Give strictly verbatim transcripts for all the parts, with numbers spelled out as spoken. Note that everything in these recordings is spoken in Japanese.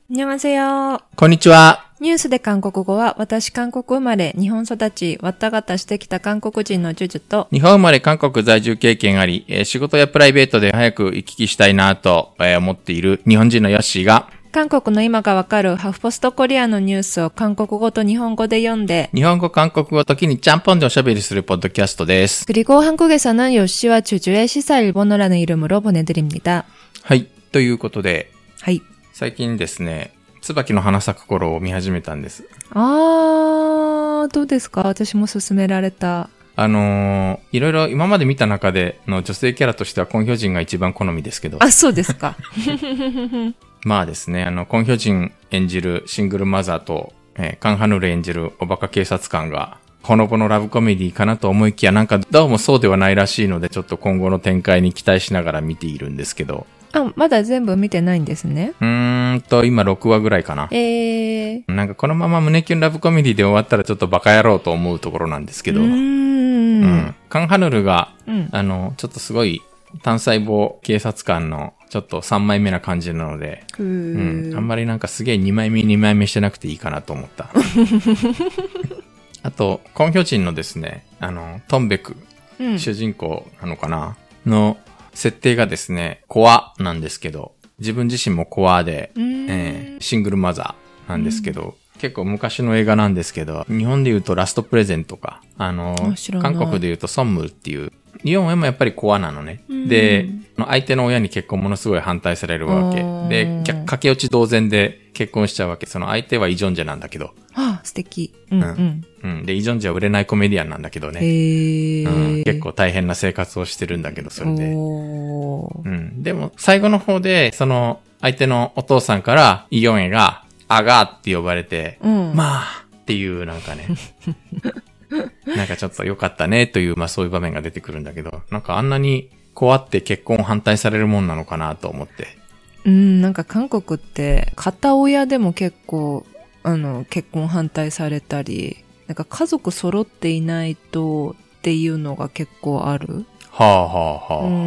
안녕하세요。 こんにちは。 ニュースで韓国語は、私韓国生まれ、日本育ち、わったがたしてきた韓国人のジュジュと、 日本生まれ韓国在住経験あり、えー仕事やプライベートで早く行き来したいなと、えー思っている日本人のヨッシーが、 韓国の今がわかるハフポストコリアのニュースを韓国語と日本語で読んで、 日本語、韓国語、時にちゃんぽんでおしゃべりするポッドキャストです。 그리고 한국에서는 요시와 주주의 시사 일본어라는 이름으로 보내드립니다. はい。ということで、 はい。 最近ですね、椿の花咲く頃を見始めたんです。 あー、どうですか？私も勧められた。 あのー、いろいろ今まで見た中での女性キャラとしてはコンヒョジンが一番好みですけど。 あ、そうですか。 まあですね、あの、コンヒョジン演じるシングルマザーと、えー、カンハヌル演じるおバカ警察官が、ほのぼのラブコメディかなと思いきや、なんかどうもそうではないらしいので、ちょっと今後の展開に期待しながら見ているんですけど。 あ、まだ全部見てないんですね。 うーんと、今ろくわぐらいかな。 えー。 なんかこのまま胸キュンラブコメディで終わったらちょっとバカ野郎と思うところなんですけど。 うーん。 うん。カンハヌルが、 うん、 あの、ちょっとすごい単細胞警察官のちょっとさんまいめな感じなので、 うーん、 うん。あんまりなんかすげえにまいめにまいめしてなくていいかなと思った。あと、コンヒョジンのですね、あの、トンベク、 うん、 主人公なのかなの設定がですね、コアなんですけど、自分自身もコアで、えー、シングルマザーなんですけど、結構昔の映画なんですけど、日本で言うとラストプレゼントか、あの、韓国で言うとソンムルっていう、日本はもやっぱりコアなのね。で、相手の親に結婚ものすごい反対されるわけ。で、駆け落ち同然で結婚しちゃうわけ。その相手はイジョンジェなんだけど。 ああ、素敵。うん、うん。 うん。で、イジョンジェは売れないコメディアンなんだけどね。 へー、 うん。結構大変な生活をしてるんだけど、それで。 おー、 うん。でも、最後の方で、その、相手のお父さんから、イヨンエが、アガーって呼ばれて、うん、まあっていうなんかね、なんかちょっと良かったねという、まあそういう場面が出てくるんだけど、なんかあんなにこうあって結婚反対されるもんなのかなと思って。 うん、なんか韓国って片親でも結構あの結婚反対されたり、なんか家族揃っていないとっていうのが結構ある。 はあはあはあ、はあ。うん、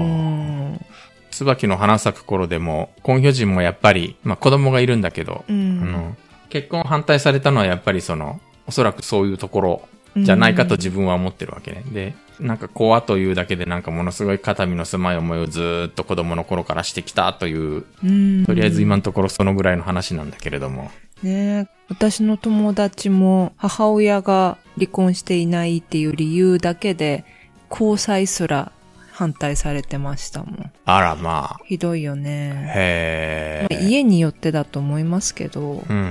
椿の花咲く頃でも、コンヒョジンもやっぱり、まあ子供がいるんだけど、うん、あの結婚反対されたのはやっぱりその、おそらくそういうところじゃないかと自分は思ってるわけね。うん、で、なんかコアというだけでなんかものすごい肩身の狭い思いをずーっと子供の頃からしてきたという、うん、とりあえず今のところそのぐらいの話なんだけれども。 ねえ、私の友達も母親が離婚していないっていう理由だけで、交際すら反対されてましたもん。 あらまあ。 ひどいよね。 へー。 まあ、家によってだと思いますけど。うん。うん、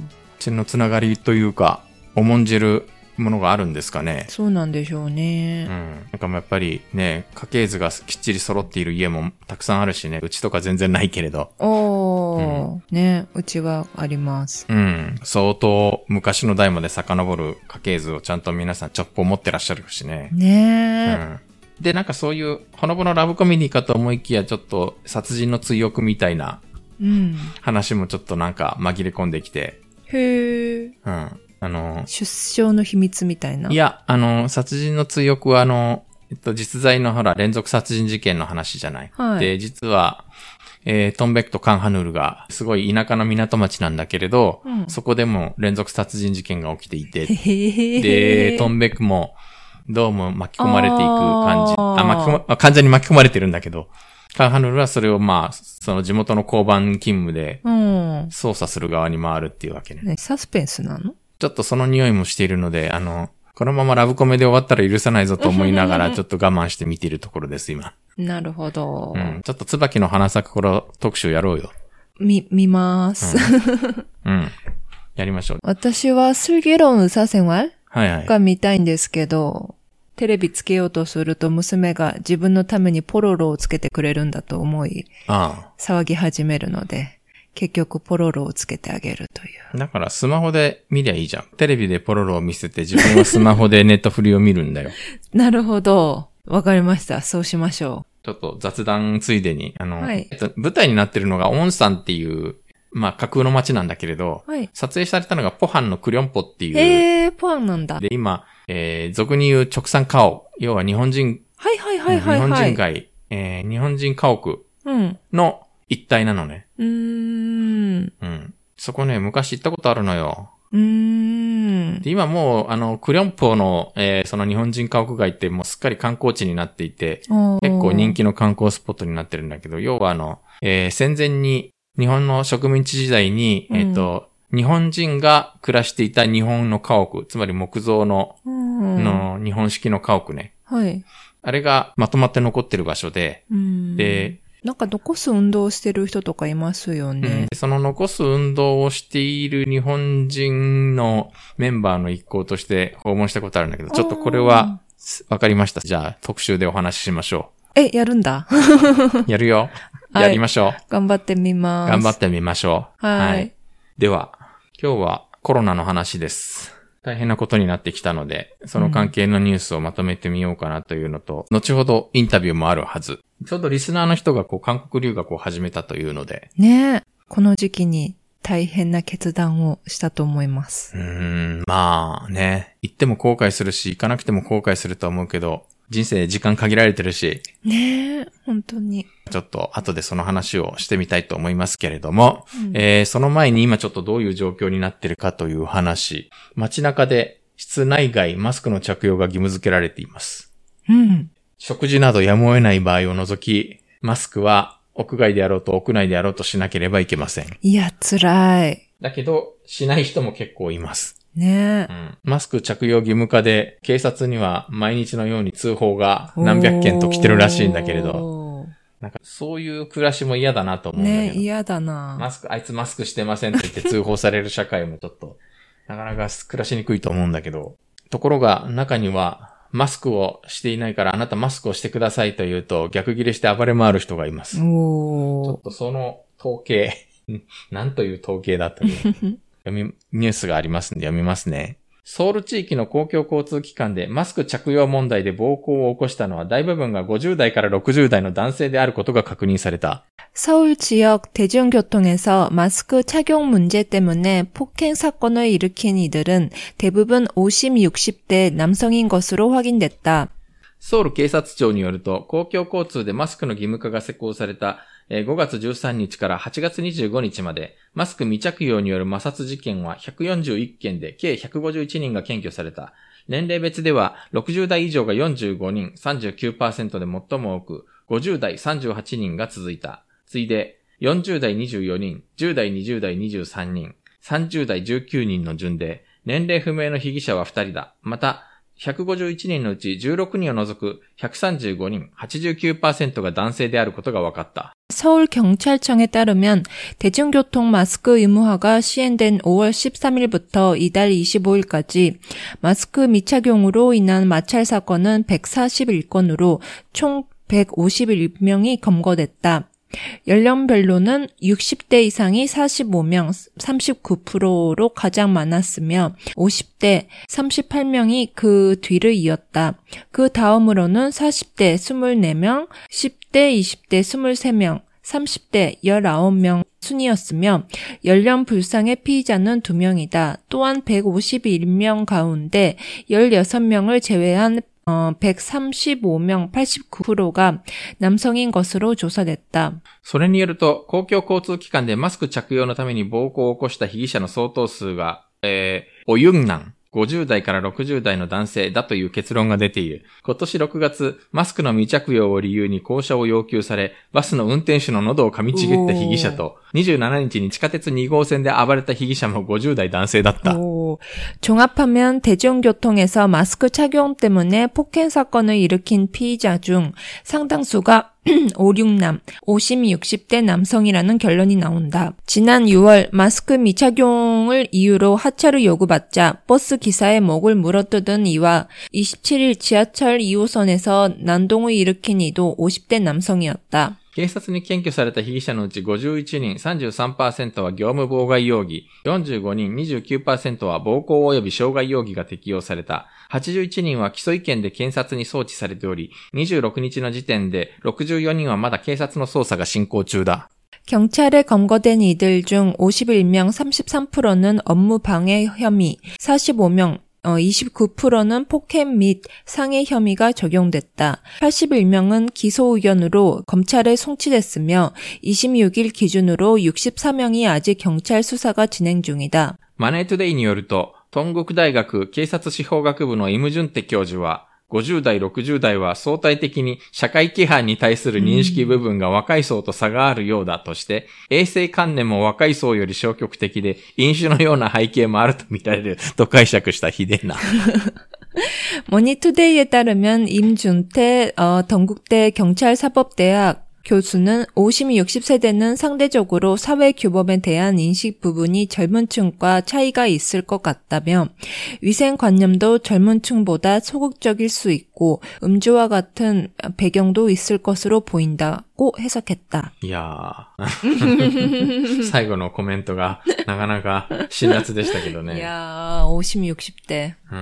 血のつながりというか、重んじるものがあるんですかね。 そうなんでしょうね。 うん。なんかやっぱりね、家系図がきっちり揃っている家もたくさんあるしね、うちとか全然ないけれど。 おー、うん、ね、うちはあります。 うん。相当昔の代まで遡る家系図をちゃんと皆さんちょっぽ持ってらっしゃるしね。 ねえ。 うん。で、なんかそういう、ほのぼのラブコメディかと思いきや、ちょっと殺人の追憶みたいな、話もちょっとなんか紛れ込んできて。 へー。 うん。あの、 出生の秘密みたいな。 いや、あの、殺人の追憶はあの、えっと、実在のほら、連続殺人事件の話じゃない。はい。で、実は、えー、トンベクとカンハヌルが、すごい田舎の港町なんだけれど、うん、そこでも連続殺人事件が起きていて、で、トンベクも、どうも巻き込まれていく感じ。あ、巻き込ま、完全に巻き込まれてるんだけど、カンハヌルはそれをまあ、その地元の交番勤務で、捜査する側に回るっていうわけね。 ね、サスペンスなの？ ちょっとその匂いもしているので、あの、このままラブコメで終わったら許さないぞと思いながら、ちょっと我慢して見ているところです、今。 なるほど。 うん。ちょっと椿の花咲く頃特集やろうよ。 み、見ます。 うん。うん、やりましょう。 私は슬기로운 의사생활 はいはい。 が見たいんですけど、テレビつけようとすると娘が自分のためにポロロをつけてくれるんだと思い、ああ騒ぎ始めるので、結局ポロロをつけてあげるという。 だからスマホで見りゃいいじゃん。テレビでポロロを見せて自分はスマホでネットフリを見るんだよ。 なるほど。わかりました。そうしましょう。ちょっと雑談ついでに、あの、 はい、 えっと、舞台になってるのがオンサンっていう、まあ架空の街なんだけれど、はい、撮影されたのがポハンのクリョンポっていう。 えー、ポハンなんだ。 で、今、えー、俗に言う直産家屋、要は日本人、 はいはいはいはい、はい。 日本人街、えー、日本人家屋の一帯なのね。 うーん。 うん。 そこね、昔行ったことあるのよ。 うーん。 で今もう、あの、クリョンポの、えー、その日本人家屋街ってもうすっかり観光地になっていて、結構人気の観光スポットになってるんだけど、要はあの、えー、戦前に日本の植民地時代に、うん、えっと、日本人が暮らしていた日本の家屋、つまり木造の、うん、の日本式の家屋ね。 はい。 あれがまとまって残ってる場所で、 うん、 で、 なんか残す運動をしてる人とかいますよね。 うん、その残す運動をしている日本人のメンバーの一行として訪問したことあるんだけど、ちょっとこれはわかりました。じゃあ特集でお話ししましょう。え、やるんだ。 やるよ。やりましょう、はい。 頑張ってみます。 頑張ってみましょう。はい。はい、 では、今日はコロナの話です。大変なことになってきたので、その関係のニュースをまとめてみようかなというのと、うん、後ほどインタビューもあるはず。ちょうどリスナーの人がこう韓国留学を始めたというので。 ねえ。この時期に大変な決断をしたと思います。 うーん、まあね。行っても後悔するし、行かなくても後悔すると思うけど、人生時間限られてるし。 ねえ、本当に。 ちょっと後でその話をしてみたいと思いますけれども、うん、えー、その前に今ちょっとどういう状況になってるかという話。街中で室内外マスクの着用が義務付けられています。 うん。 食事などやむを得ない場合を除き、マスクは屋外であろうと屋内であろうとしなければいけません。 いや、辛い。 だけど、しない人も結構います。 ねえ、 うん。マスク着用義務化で、警察には毎日のように通報が何百件と来てるらしいんだけれど、なんかそういう暮らしも嫌だなと思うんだけど。 ね、嫌だな。 マスク、あいつマスクしてませんって言って通報される社会もちょっと、なかなか暮らしにくいと思うんだけど、ところが中には、マスクをしていないからあなたマスクをしてくださいと言うと逆ギレして暴れ回る人がいます。 おちょっとその統計、なんという統計だという読みニュースがありますんで読みますね。ソウル地域の公共交通機関でマスク着用問題で暴行を起こしたのは大部分がごじゅう代からろくじゅう代の男性であることが確認された。 서울 지역 대중교통에서 마스크 착용 문제 때문에 폭행 사건을 일으킨 이들은 대부분 오십, 육십 대 남성인 것으로 확인됐다. ソウル警察庁によると、公共交通でマスクの義務化が施行されたごがつじゅうさんにちからはちがつにじゅうごにちまで、マスク未着用による摩擦事件はひゃくよんじゅういっけんで計ひゃくごじゅういちにんが検挙された。年齢別ではろくじゅう代以上がよんじゅうごにん、さんじゅうきゅうパーセント で最も多く、ごじゅう代さんじゅうはちにんが続いた。次いで、よんじゅう代にじゅうよにん、じゅう代にじゅう代にじゅうさんにん、さんじゅう代じゅうきゅうにんの順で、年齢不明の被疑者はふたりだ。また、ひゃくごじゅういちにんのうちじゅうろくにんを除くひゃくさんじゅうごにん、はちじゅうきゅうパーセント が男性であることが分かった。 서울경찰청에 따르면 대중교통 마스크 의무화가 시행된 오월 십삼일부터 이달 이십오일까지 마스크 미착용으로 인한 마찰 사건은 백사십일 건으로 총 백오십일 명이 검거됐다. 연령별로는 육십 대 이상이 사십오 명, 삼십구 퍼센트로 가장 많았으며 오십 대 삼십팔 명이 그 뒤를 이었다. 그 다음으로는 사십 대 이십사 명, 십 대 이십 대 이십삼 명, 삼십 대 십구 명 순이었으며 연령 불상의 피의자는 두 명이다. 또한 백오십일 명 가운데 십육 명을 제외한 어, 백삼십오 명, 팔십구 퍼센트가 남성인 것으로 조사됐다. それによると、公共交通機関でマスク着用のために暴行を起こした被疑者の相当数が、えー、おゆんなんごじゅう代からろくじゅう代の男性だという結論が出ている。今年ろくがつ、マスクの未着用を理由に降車を要求され、バスの運転手の喉を噛みちぎった被疑者と、にじゅうしちにちに地下鉄に号線で暴れた被疑者もごじゅう代男性だった。 종합하면 대중교통에서 마스크 착용 때문에 폭행 사건을 일으킨 피의자 중 상당수가 오, 육 남, 오십, 육십 대 남성이라는 결론이 나온다. 지난 유월 마스크 미착용을 이유로 하차를 요구받자 버스 기사의 목을 물어뜯은 이와 이십칠일 지하철 이 호선에서 난동을 일으킨 이도 오십 대 남성이었다. 警察に検挙された被疑者のうちごじゅういちにん、さんじゅうさんパーセント は業務妨害容疑、よんじゅうごにん、にじゅうきゅうパーセント は暴行及び傷害容疑が適用された。はちじゅういちにんは起訴意見で検察に送致されており、にじゅうろくにちの時点でろくじゅうよにんはまだ警察の捜査が進行中だ。 경찰에 검거된 이들 중 오십일 명, 삼십삼 퍼센트는 업무 방해 혐의, 사십오 명, 이십구 퍼센트는 폭행 및 상해 혐의가 적용됐다. 팔십일 명은 기소 의견으로 검찰에 송치됐으며 이십육 일 기준으로 육십사 명이 아직 경찰 수사가 진행 중이다. マネートゥデイによると、東国大学警察司法学部のイムジュンテ教授は、ごじゅう代、ろくじゅう代は相対的に社会規範に対する認識部分が若い層と差があるようだとして、衛生観念も若い層より消極的で、飲酒のような背景もあると見られると解釈したひでえな。 머니투데이에 따르면 임준태 어, 동국대 경찰사법대학 교수는 오십, 육십 세대는 상대적으로 사회규범에 대한 인식 부분이 젊은 층과 차이가 있을 것 같다며 위생관념도 젊은 층보다 소극적일 수 있고 음주와 같은 배경도 있을 것으로 보인다고 해석했다. 이야. 最後のコメントがなかなか辛辣でしたけどね。 いやー、오십, 육십 대。 うん。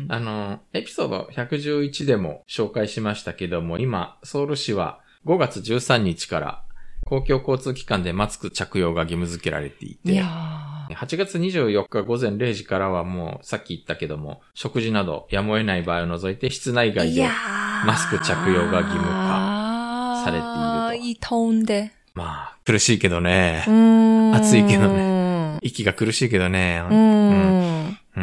あの、エピソードひゃくじゅういちでも紹介しましたけども、今、ソウル市はごがつじゅうさんにちから公共交通機関でマスク着用が義務付けられていて、いやはちがつにじゅうよっかごぜんれいじからはもうさっき言ったけども、食事などやむを得ない場合を除いて室内外でマスク着用が義務化されていると。 いい더운데。 まあ、苦しいけどね。暑いけどね。息が苦しいけどね。うん。 うん。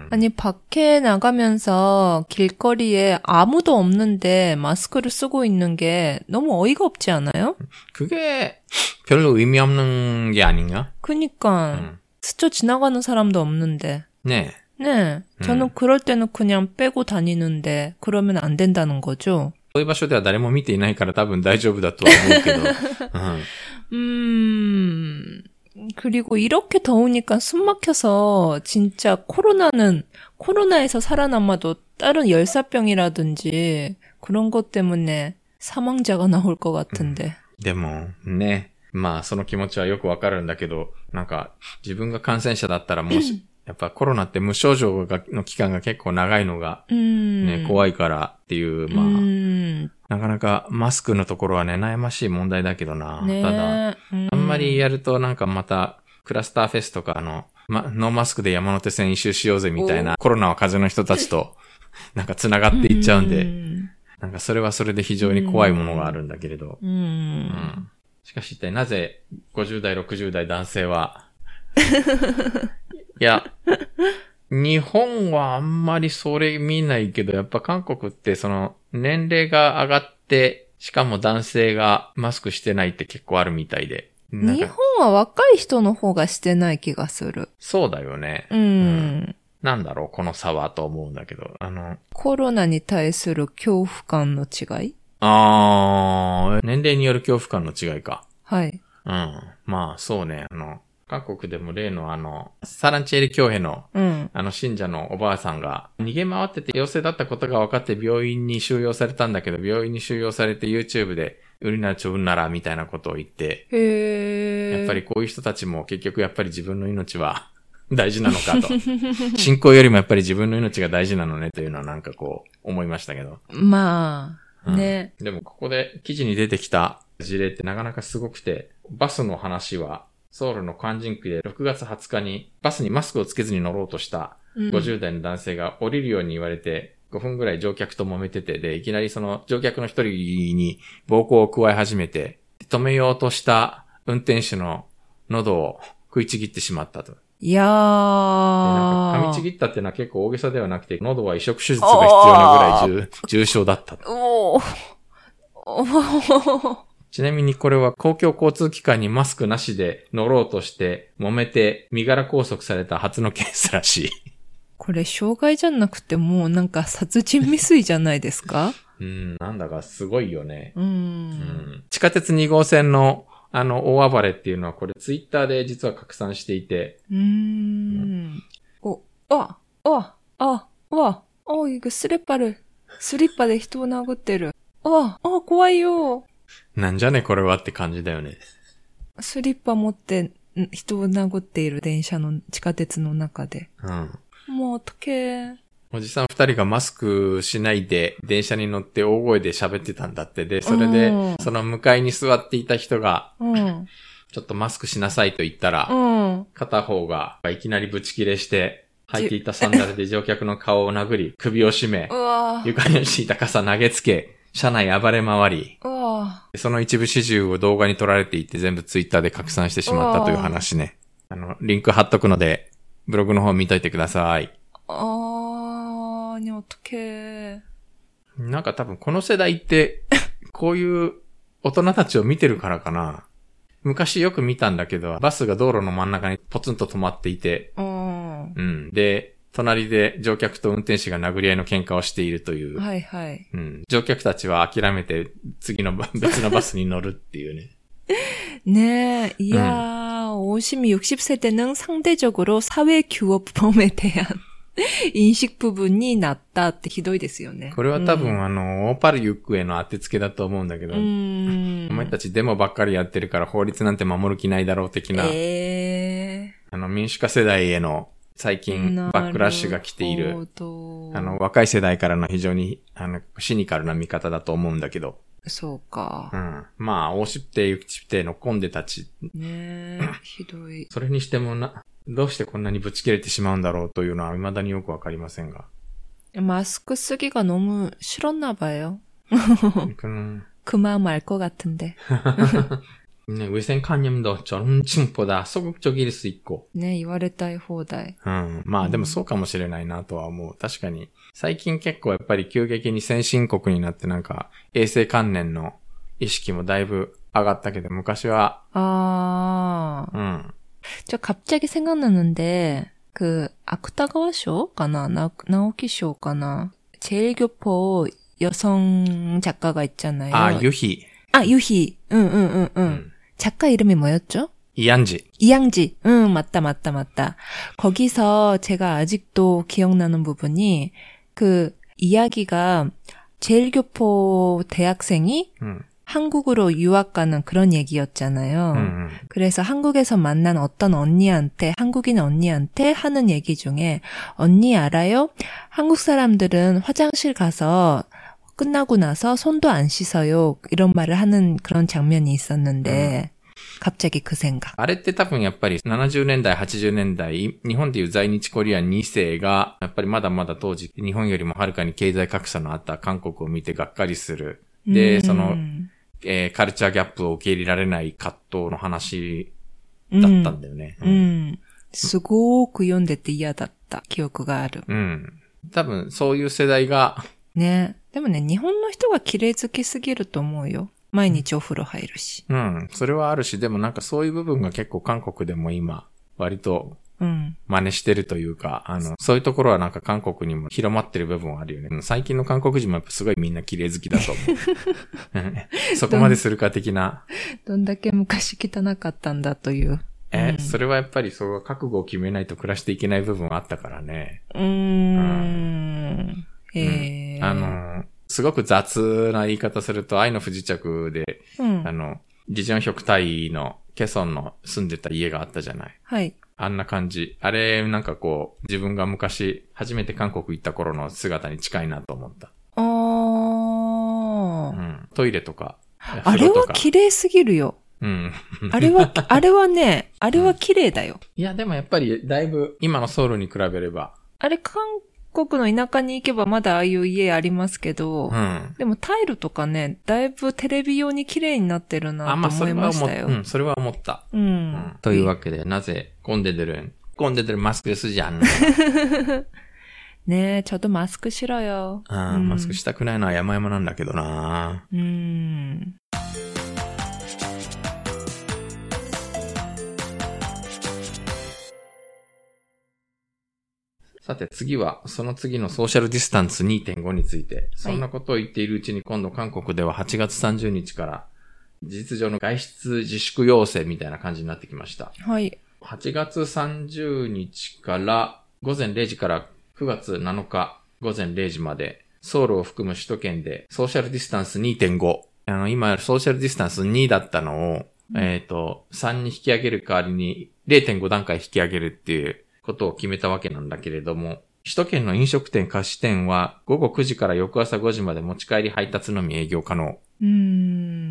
아니 밖에 나가면서 길거리에 아무도 없는데 마스크를 쓰고 있는 게 너무 어이가 없지 않아요? 그게 별로 의미 없는 게 아닌가? 그니까 음. 스쳐 지나가는 사람도 없는데. 네. 네. 저는 음. 그럴 때는 그냥 빼고 다니는데 그러면 안 된다는 거죠. そういう場所では誰も見ていないから多分大丈夫だとは思うけど。 うん。 그리고 이렇게 더우니까 숨 막혀서 진짜 코로나는 코로나에서 살아남아도 다른 열사병이라든지 그런 것 때문에 사망자가 나올 것 같은데. でもね、まあその気持ちはよくわかるんだけど、なんか自分が感染者だったらもしやっぱコロナって無症状がの期間が結構長いのがね、怖いからっていうまあ。なかなかマスクのところはね、悩ましい問題だけどな。ね、ただ、あんまりやるとなんかまた、クラスターフェスとかあの、ま、ノーマスクで山手線一周しようぜみたいな、コロナは風邪の人たちと、なんか繋がっていっちゃうんで、なんかそれはそれで非常に怖いものがあるんだけれど。うん、しかし一体なぜごじゅう代、ろくじゅう代男性は、いや、日本はあんまりそれ見ないけど、やっぱ韓国ってその年齢が上がって、しかも男性がマスクしてないって結構あるみたいで。 日本は若い人の方がしてない気がする。 そうだよね。 うん。うん、 なんだろう、この差はと思うんだけど。あの、 コロナに対する恐怖感の違い？ あー、年齢による恐怖感の違いか。 はい。 うん。まあ、そうね。あの、韓国でも例のあの、サランチェリ教兵の、うん、あの信者のおばあさんが逃げ回ってて陽性だったことが分かって病院に収容されたんだけど、病院に収容されて YouTube でウリナチョウンナラみたいなことを言って、へー、やっぱりこういう人たちも結局やっぱり自分の命は大事なのかと。信仰よりもやっぱり自分の命が大事なのねというのはなんかこう思いましたけど。 まあ、ね、 うん。でもここで記事に出てきた事例ってなかなかすごくて、バスの話は、ソウルのカンジン区でろくがつはつかにバスにマスクをつけずに乗ろうとしたごじゅう代の男性が降りるように言われてごふんぐらい乗客と揉めてて、で、いきなりその乗客の一人に暴行を加え始めて、止めようとした運転手の喉を食いちぎってしまったと。 いやー。 なんか噛みちぎったっていうのは結構大げさではなくて、喉は移植手術が必要なぐらい 重, 重症だったと。おー。おー。ちなみにこれは公共交通機関にマスクなしで乗ろうとして揉めて身柄拘束された初のケースらしい。 これ傷害じゃなくてもうなんか殺人未遂じゃないですか？ うん、なんだかすごいよね。うん、うん。地下鉄に号線のあの大暴れっていうのはこれツイッターで実は拡散していて。うーん。うん、 お、あ、あ、あ、あ、あ、いくスリッパで、スリッパで人を殴ってる。あ、あ、怖いよ。 なんじゃねこれはって感じだよね。 スリッパ持って人を殴っている電車の地下鉄の中で。うん。もうおとけ。 おじさん二人がマスクしないで電車に乗って大声で喋ってたんだって。で、それで、うん、その向かいに座っていた人が、うん、ちょっとマスクしなさいと言ったら、うん、片方がいきなりブチ切れして、 履いていたサンダルで乗客の顔を殴り、首を絞め、床に敷いた傘投げつけ、車内暴れ回り、その一部始終を動画に撮られていて全部ツイッターで拡散してしまったという話ね。あの、リンク貼っとくので、ブログの方見といてください。 あー、にょっとけー。 なんか多分この世代って、こういう大人たちを見てるからかな。昔よく見たんだけど、バスが道路の真ん中にポツンと止まっていて、うん。で、隣で乗客と運転手が殴り合いの喧嘩をしているという。 はいはい。 うん。乗客たちは諦めて次の別のバスに乗るっていうね。 ねえ、いやー、오십, 육십 세대는 상대적으로 사회 규범에 대한 인식 부분이 낮다ってひどいですよね。 これは多分、うん、あの、オーパルユックへの当てつけだと思うんだけど、うん、お前たちデモばっかりやってるから法律なんて守る気ないだろう的な、えー、あの、民主化世代への最近バックラッシュが来ている、あの、若い世代からの非常に、あの、シニカルな見方だと思うんだけど、 そうか。 うん。まあ、オーシプテ、ユキチプテのコンデたち。 ねえ、ひどい。 それにしてもな、どうしてこんなにぶち切れてしまうんだろうというのは未だによくわかりませんが。 マスク쓰기가 너무 싫었나 봐요. 그 마음 알 것 같은데. 네, 위생관념도 전층보다 소극적일 수 있고. 네, 言われたい放題。 うん。まあ、でもそうかもしれないなとは思う。確かに。最近結構やっぱり急激に先進国になってなんか衛生観念の意識もだいぶ上がったけど昔は。 ああ。うん。저 갑자기 생각나는데 그芥川賞かな? 나, 나오키賞かな? 제일교포 여성 작가가 있잖아요. 아, 유희. 아, 유희. 응, 응, 응, 응. 음. 작가 이름이 뭐였죠? 이양지. 이양지. 응, 맞다, 맞다, 맞다. 거기서 제가 아직도 기억나는 부분이 그 이야기가 제일교포 대학생이 음. 한국으로 유학 가는 그런 얘기였잖아요. 음. 그래서 한국에서 만난 어떤 언니한테, 한국인 언니한테 하는 얘기 중에 언니 알아요? 한국 사람들은 화장실 가서 끝나고 나서 손도 안 씻어요. 이런 말을 하는 그런 장면이 있었는데 음. 갑자기 그 생각. あれって多分やっぱりななじゅうねんだい、はちじゅうねんだい、日本でいう在日コリアンに世が、やっぱりまだまだ当時、日本よりもはるかに経済格差のあった韓国を見てがっかりする。で、その、えー、カルチャーギャップを受け入れられない葛藤の話だったんだよね。 うん。うん、すごく読んでて嫌だった記憶がある。 うん。多分そういう世代が。 ね。でもね、日本の人が綺麗好きすぎると思うよ。毎日お風呂入るし。 うん。それはあるし、でもなんかそういう部分が結構韓国でも今、割と、真似してるというか、うん、あの、そういうところはなんか韓国にも広まってる部分はあるよね。最近の韓国人もやっぱすごいみんな綺麗好きだと思う。そこまでするか的な。 どんだけ昔汚かったんだという。 え、うん、それはやっぱりそう覚悟を決めないと暮らしていけない部分はあったからね。 うーん。うん、へー、 うん。あの、すごく雑な言い方すると、愛の不時着で、うん、あの、リジョンヒョクタイのケソンの住んでた家があったじゃない。 はい。 あんな感じ。あれ、なんかこう、自分が昔、初めて韓国行った頃の姿に近いなと思った。 あー。 うん。トイレとか。 あれは綺麗すぎるよ。うん。あれは、あれはね、あれは綺麗だよ、 うん。いや、でもやっぱり、だいぶ、今のソウルに比べれば。 あれ、韓国の田舎に行けばまだああいう家ありますけど、うん、でもタイルとかね、だいぶテレビ用に綺麗になってるなと思いましたよ。 あ、まあ、それは思った。うん。うんうん、というわけで、なぜ、コンデデルン、コンデデルマスクすじゃん。 ねえ、ちょっとマスクしろよ。 あ、うん、マスクしたくないのは山々なんだけどな。うん。さて次は、その次のソーシャルディスタンス にてんご について、そんなことを言っているうちに今度韓国でははちがつさんじゅうにちから事実上の外出自粛要請みたいな感じになってきました。 はい。 はちがつさんじゅうにちからごぜんれいじからくがつなのかごぜんれいじまでソウルを含む首都圏でソーシャルディスタンス にてんご。あの、今ソーシャルディスタンスにだったのを、うん、えっと、さんに引き上げる代わりに れいてんご 段階引き上げるっていうことを決めたわけなんだけれども、首都圏の飲食店菓子店はごごくじから翌朝ごじまで持ち帰り配達のみ営業可能。 うーん。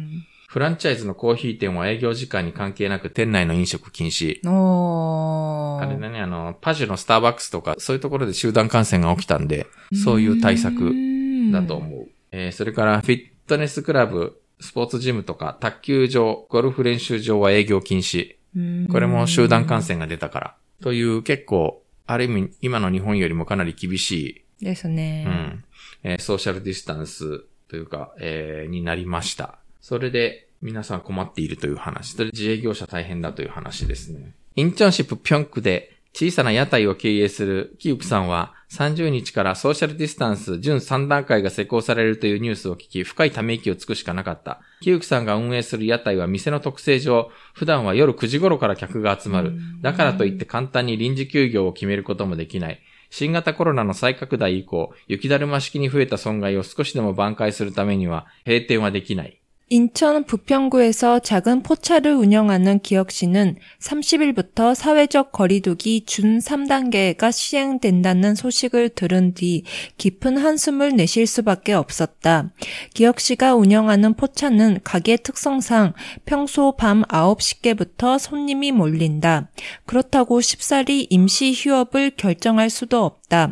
フランチャイズのコーヒー店は営業時間に関係なく店内の飲食禁止。 おー。 あれだね、あの、パジュのスターバックスとか、そういうところで集団感染が起きたんで、そういう対策だと思う。えー、それから、フィットネスクラブ、スポーツジムとか、卓球場、ゴルフ練習場は営業禁止。これも集団感染が出たから。という結構、ある意味、今の日本よりもかなり厳しい。ですね。 うん。えー、ソーシャルディスタンスというか、えー、になりました。それで、皆さん困っているという話。それで自営業者大変だという話ですね。インチョンシップピョンクで小さな屋台を経営するキユクさんはさんじゅうにちからソーシャルディスタンス準さん段階が施行されるというニュースを聞き、深いため息をつくしかなかった。キユクさんが運営する屋台は店の特性上、普段は夜くじ頃から客が集まる。だからといって簡単に臨時休業を決めることもできない。新型コロナの再拡大以降、雪だるま式に増えた損害を少しでも挽回するためには閉店はできない。 인천 부평구에서 작은 포차를 운영하는 기혁씨는 삼십 일부터 사회적 거리두기 준 삼 단계가 시행된다는 소식을 들은 뒤 깊은 한숨을 내쉴 수밖에 없었다. 기혁씨가 운영하는 포차는 가게 특성상 평소 밤 아홉 시께부터 손님이 몰린다. 그렇다고 쉽사리 임시 휴업을 결정할 수도 없다.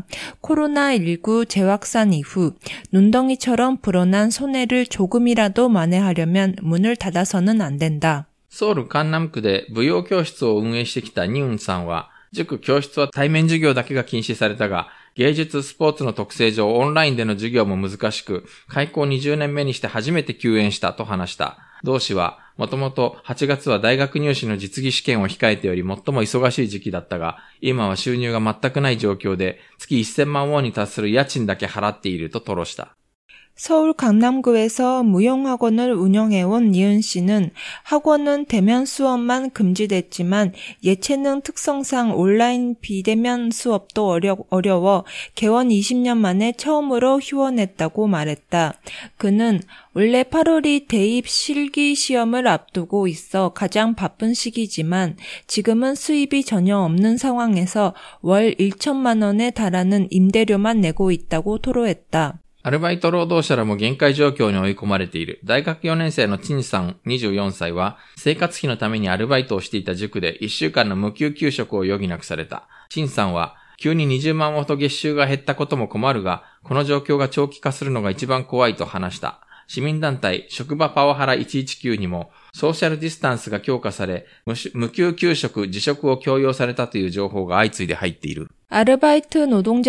코로나십구 재확산 이후 눈덩이처럼 불어난 손해를 조금이라도 만회하려면 문을 닫아서는 안 된다. ソウル江南区で舞踊教室を運営してきたニウンさんは、塾教室は対面授業だけが禁止されたが、芸術スポーツの特性上オンラインでの授業も難しく、開校にじゅうねんめにして初めて休園したと話した。同氏は、もともとはちがつは大学入試の実技試験を控えており最も忙しい時期だったが、今は収入が全くない状況で、月せんまんウォンに達する家賃だけ払っていると吐露した。 서울 강남구에서 무용학원을 운영해온 니은 씨는 학원은 대면 수업만 금지됐지만 예체능 특성상 온라인 비대면 수업도 어려, 어려워 개원 이십 년 만에 처음으로 휴원했다고 말했다. 그는 원래 팔월이 대입 실기 시험을 앞두고 있어 가장 바쁜 시기지만 지금은 수입이 전혀 없는 상황에서 월 천만 원에 달하는 임대료만 내고 있다고 토로했다. アルバイト労働者らも限界状況に追い込まれている。大学よねん生のチンさんにじゅうよんさいは、生活費のためにアルバイトをしていた塾でいっしゅうかんの無給休職を余儀なくされた。チンさんは、急ににじゅうまんウォンほど月収が減ったことも困るが、この状況が長期化するのが一番怖いと話した。市民団体、職場パワハラいちいちきゅうにも、ソーシャルディスタンスが強化され、無給休職、辞職を強要されたという情報が相次いで入っている。 아르바이트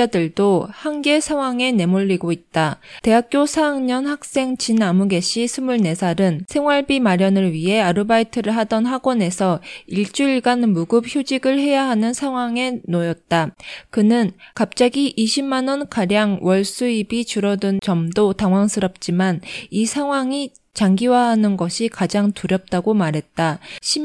노동자들도 한계 상황에 내몰리고 있다. 대학교 사 학년 학생 진아무개 씨 스물네 살은 생활비 마련을 위해 아르바이트를 하던 학원에서 일주일간 무급 휴직을 해야 하는 상황에 놓였다. 그는 갑자기 이십만 원가량 월 수입이 줄어든 점도 당황스럽지만 이 상황이 장기화하는 것이 가장 두렵다고 말했다.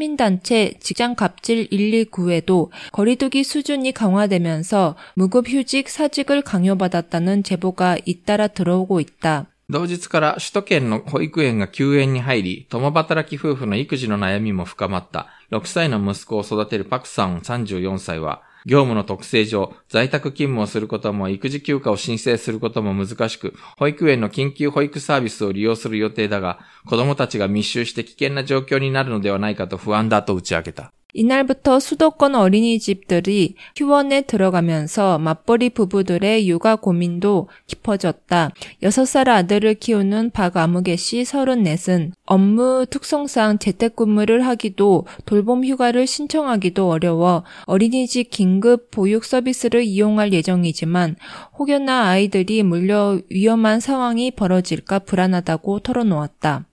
시민단체 직장갑질 일일구에도 거리두기 수준이 강화되면서 무급휴직 사직을 강요받았다는 제보가 잇따라 들어오고 있다. 同日から首都圏の保育園が休園に入り、共働き夫婦の育児の悩みも深まった。ろくさいの息子を育てるパクさんさんじゅうよんさいは、業務の特性上、在宅勤務をすることも育児休暇を申請することも難しく、保育園の緊急保育サービスを利用する予定だが、子供たちが密集して危険な状況になるのではないかと不安だと打ち明けた。 이날부터 수도권 어린이집들이 휴원에 들어가면서 맞벌이 부부들의 육아 고민도 깊어졌다. 여섯 살 아들을 키우는 박아무개 씨 서른넷은 업무 특성상 재택근무를 하기도 돌봄 휴가를 신청하기도 어려워 어린이집 긴급 보육 서비스를 이용할 예정이지만 혹여나 아이들이 물려 위험한 상황이 벌어질까 불안하다고 털어놓았다.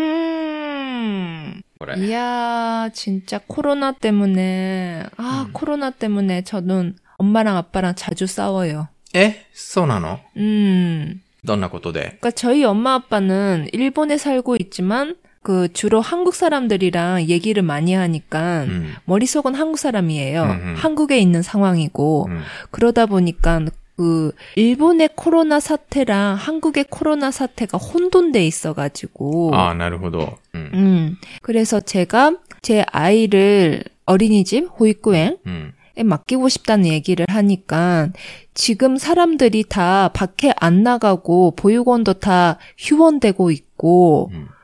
음... 이야, 진짜 코로나 때문에, 아, 음. 코로나 때문에 저는 엄마랑 아빠랑 자주 싸워요. 에? そうなの? 음. どんなことで? 그러니까 저희 엄마 아빠는 일본에 살고 있지만 그 주로 한국 사람들이랑 얘기를 많이 하니까 음. 머릿속은 한국 사람이에요. 음음. 한국에 있는 상황이고 음. 그러다 보니까 그 일본의 코로나 사태랑 한국의 코로나 사태가 혼돈돼 있어가지고 아, なるほど. 음. 음. 그래서 제가 제 아이를 어린이집 호이쿠엔 음. 에 맡기고 싶다는 얘기를 하니까 지금 사람들이 다 밖에 안 나가고 보육원도 다 휴원되고 있고 음.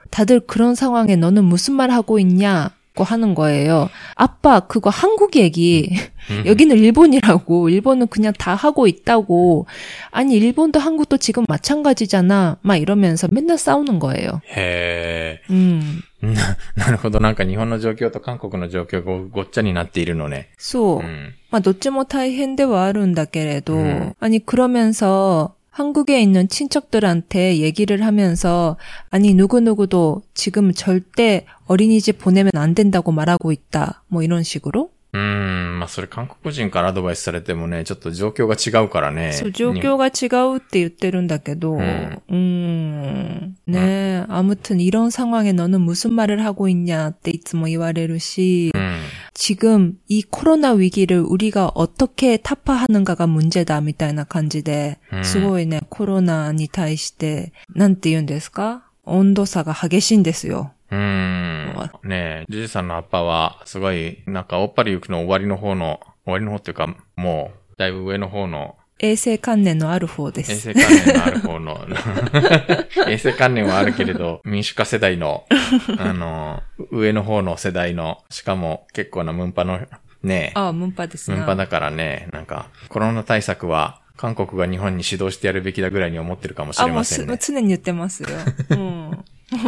다들 그런 상황에 너는 무슨 말 하고 있냐고 하는 거예요. 아빠, 그거 한국 얘기. 여기는 일본이라고. 일본은 그냥 다 하고 있다고. 아니, 일본도 한국도 지금 마찬가지잖아. 막 이러면서 맨날 싸우는 거예요. 해ー。 음. なるほど。なんか日本の状況と韓国の状況がごっちゃになっているのね。 そう。まあ、どっちも大変ではあるんだけれど、 음. 아니, 그러면서 한국에 있는 친척들한테 얘기를 하면서 아니 누구누구도 지금 절대 어린이집 보내면 안 된다고 말하고 있다. 뭐 이런 식으로? うーん、まあそれ韓国人からアドバイスされてもね、ちょっと状況が違うからね。 そう、状況が違うって言ってるんだけど、 음. 음, 네, 아무튼 이런 상황에 너는 무슨 말을 하고 있냐っていつも言われるし, 음. 지금 이 코로나 위기를 우리가 어떻게 타파하는가가 문제다 みたいな感じで、 음. すごいね、コロナに対して、なんて言うんですか?温度差が激しいんですよ。 うーん。ねえ、ジュジさんのアッパは、すごい、なんか、おっぱり行くの終わりの方の、終わりの方っていうか、もう、だいぶ上の方の。 衛生観念のある方です。 衛生観念のある方の。衛生観念はあるけれど、民主化世代の、あの、上の方の世代の、しかも結構なムンパの、ねえ。 ああ、ムンパですね。 ムンパだからね、なんか、コロナ対策は、韓国が日本に指導してやるべきだぐらいに思ってるかもしれませんね。 あ、もう常に言ってますよ。うん。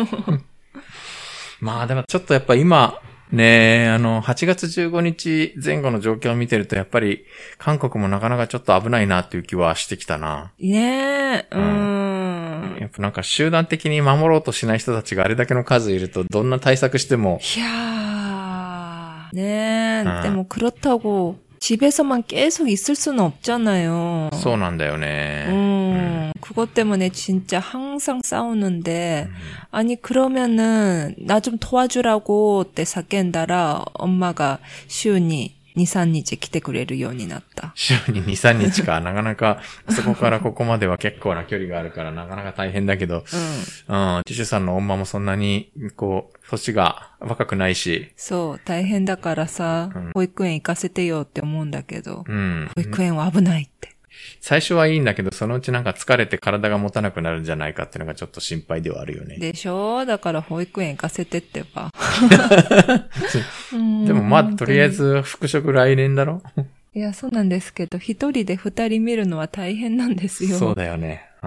まあでもちょっとやっぱ今、ね、あの、はちがつじゅうごにち前後の状況を見てるとやっぱり韓国もなかなかちょっと危ないなっていう気はしてきたな。 ねえ、うん。 やっぱなんか集団的に守ろうとしない人たちがあれだけの数いるとどんな対策しても。 いやー、ねえ、うん、でも그렇다고 집에서만 계속 있을 수는 없잖아요. そうなんだよね. 음, 음. 그것 때문에 진짜 항상 싸우는데, 음. 아니, 그러면은, 나 좀 도와주라고 때叫んだら, 엄마가週にに、さんにち来てくれるようになった。 週にに、さんにちか。なかなか、そこからここまでは結構な距離があるから、なかなか大変だけど、うん。うん。ジュシュさんの女もそんなに、こう、年が若くないし。 そう、大変だからさ、うん、保育園行かせてよって思うんだけど、 うん。 保育園は危ないって。 最初はいいんだけど、そのうちなんか疲れて体が持たなくなるんじゃないかっていうのがちょっと心配ではあるよね。 でしょ？だから保育園行かせてってば。 でもまあ、とりあえず復職来年だろ？ いや、そうなんですけど、一人で二人見るのは大変なんですよ。 そうだよね。うん。